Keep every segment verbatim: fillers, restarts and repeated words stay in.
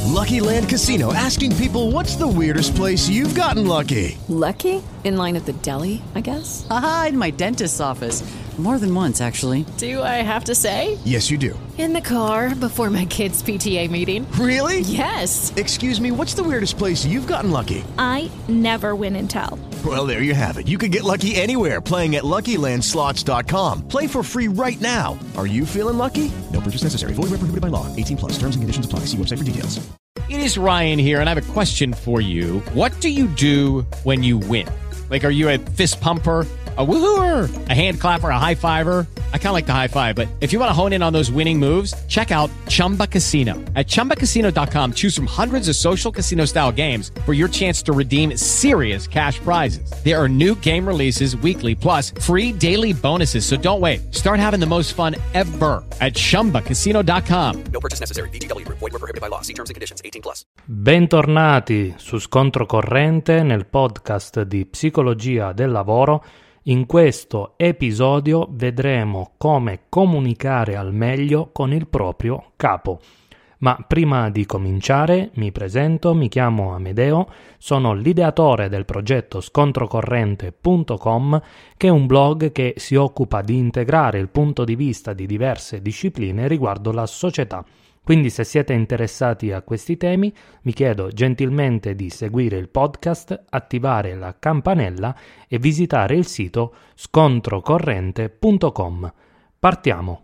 Lucky Land Casino, asking people, what's the weirdest place you've gotten lucky? Lucky? In line at the deli, I guess? Aha, in my dentist's office. More than once, actually. Do I have to say? Yes, you do. In the car before my kids' P T A meeting. Really? Yes. Excuse me, what's the weirdest place you've gotten lucky? I never win and tell. Well, there you have it. You can get lucky anywhere, playing at Lucky Land Slots dot com. Play for free right now. Are you feeling lucky? No purchase necessary. Void where prohibited by law. eighteen plus. Terms and conditions apply. See website for details. It is Ryan here, and I have a question for you. What do you do when you win? Like, are you a fist pumper, a woohooer, a hand clapper, a high fiver? I kind of like the high five, but if you want to hone in on those winning moves, check out Chumba Casino. At chumba casino dot com, choose from hundreds of social casino-style games for your chance to redeem serious cash prizes. There are new game releases weekly, plus free daily bonuses, so don't wait. Start having the most fun ever at chumba casino dot com. No purchase necessary. V G W Group. Void where prohibited by law. See terms and conditions. eighteen plus. Bentornati su Scontro Corrente nel podcast di Psicologia del Lavoro. In questo episodio vedremo come comunicare al meglio con il proprio capo. Ma prima di cominciare mi presento, mi chiamo Amedeo, sono l'ideatore del progetto scontro corrente punto com, che è un blog che si occupa di integrare il punto di vista di diverse discipline riguardo la società. Quindi se siete interessati a questi temi, vi chiedo gentilmente di seguire il podcast, attivare la campanella e visitare il sito scontro corrente punto com. Partiamo!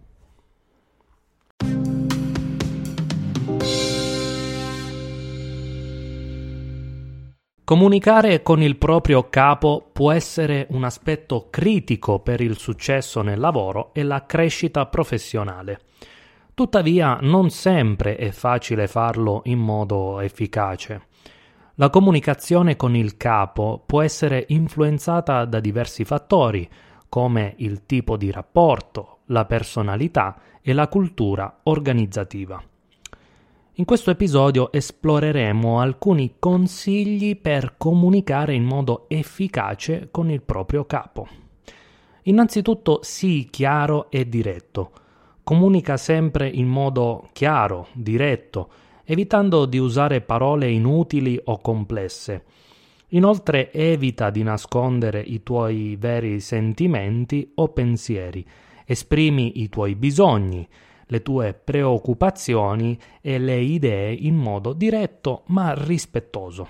Comunicare con il proprio capo può essere un aspetto critico per il successo nel lavoro e la crescita professionale. Tuttavia, non sempre è facile farlo in modo efficace. La comunicazione con il capo può essere influenzata da diversi fattori, come il tipo di rapporto, la personalità e la cultura organizzativa. In questo episodio esploreremo alcuni consigli per comunicare in modo efficace con il proprio capo. Innanzitutto, sii chiaro e diretto. Comunica sempre in modo chiaro, diretto, evitando di usare parole inutili o complesse. Inoltre evita di nascondere i tuoi veri sentimenti o pensieri. Esprimi i tuoi bisogni, le tue preoccupazioni e le idee in modo diretto ma rispettoso.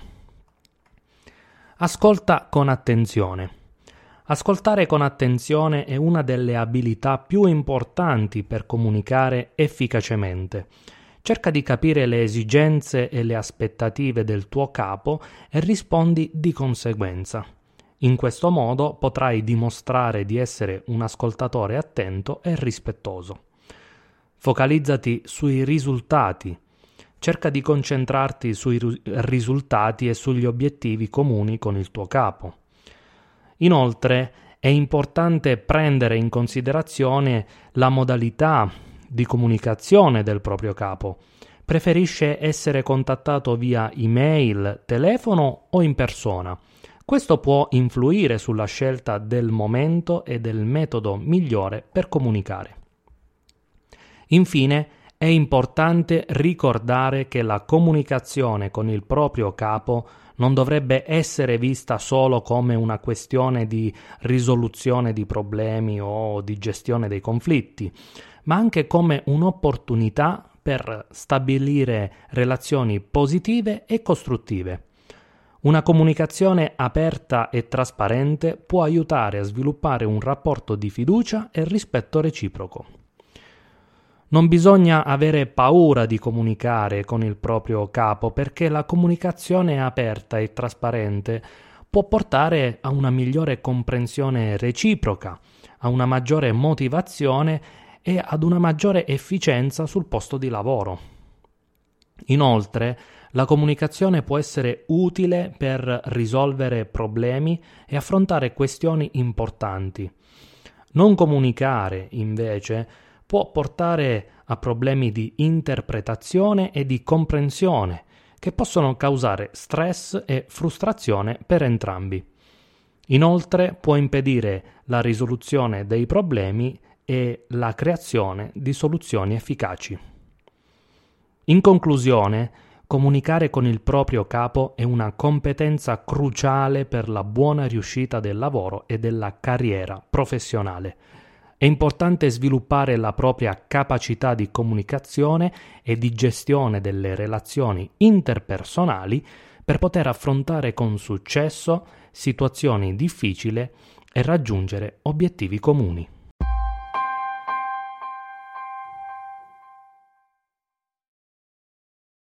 Ascolta con attenzione. Ascoltare con attenzione è una delle abilità più importanti per comunicare efficacemente. Cerca di capire le esigenze e le aspettative del tuo capo e rispondi di conseguenza. In questo modo potrai dimostrare di essere un ascoltatore attento e rispettoso. Focalizzati sui risultati. Cerca di concentrarti sui risultati e sugli obiettivi comuni con il tuo capo. Inoltre è importante prendere in considerazione la modalità di comunicazione del proprio capo. Preferisce essere contattato via email, telefono o in persona. Questo può influire sulla scelta del momento e del metodo migliore per comunicare. Infine, è importante ricordare che la comunicazione con il proprio capo non dovrebbe essere vista solo come una questione di risoluzione di problemi o di gestione dei conflitti, ma anche come un'opportunità per stabilire relazioni positive e costruttive. Una comunicazione aperta e trasparente può aiutare a sviluppare un rapporto di fiducia e rispetto reciproco. Non bisogna avere paura di comunicare con il proprio capo, perché la comunicazione aperta e trasparente può portare a una migliore comprensione reciproca, a una maggiore motivazione e ad una maggiore efficienza sul posto di lavoro. Inoltre, la comunicazione può essere utile per risolvere problemi e affrontare questioni importanti. Non comunicare, invece, può portare a problemi di interpretazione e di comprensione che possono causare stress e frustrazione per entrambi. Inoltre può impedire la risoluzione dei problemi e la creazione di soluzioni efficaci. In conclusione, Comunicare con il proprio capo è una competenza cruciale per la buona riuscita del lavoro e della carriera professionale. È importante sviluppare la propria capacità di comunicazione e di gestione delle relazioni interpersonali per poter affrontare con successo situazioni difficili e raggiungere obiettivi comuni.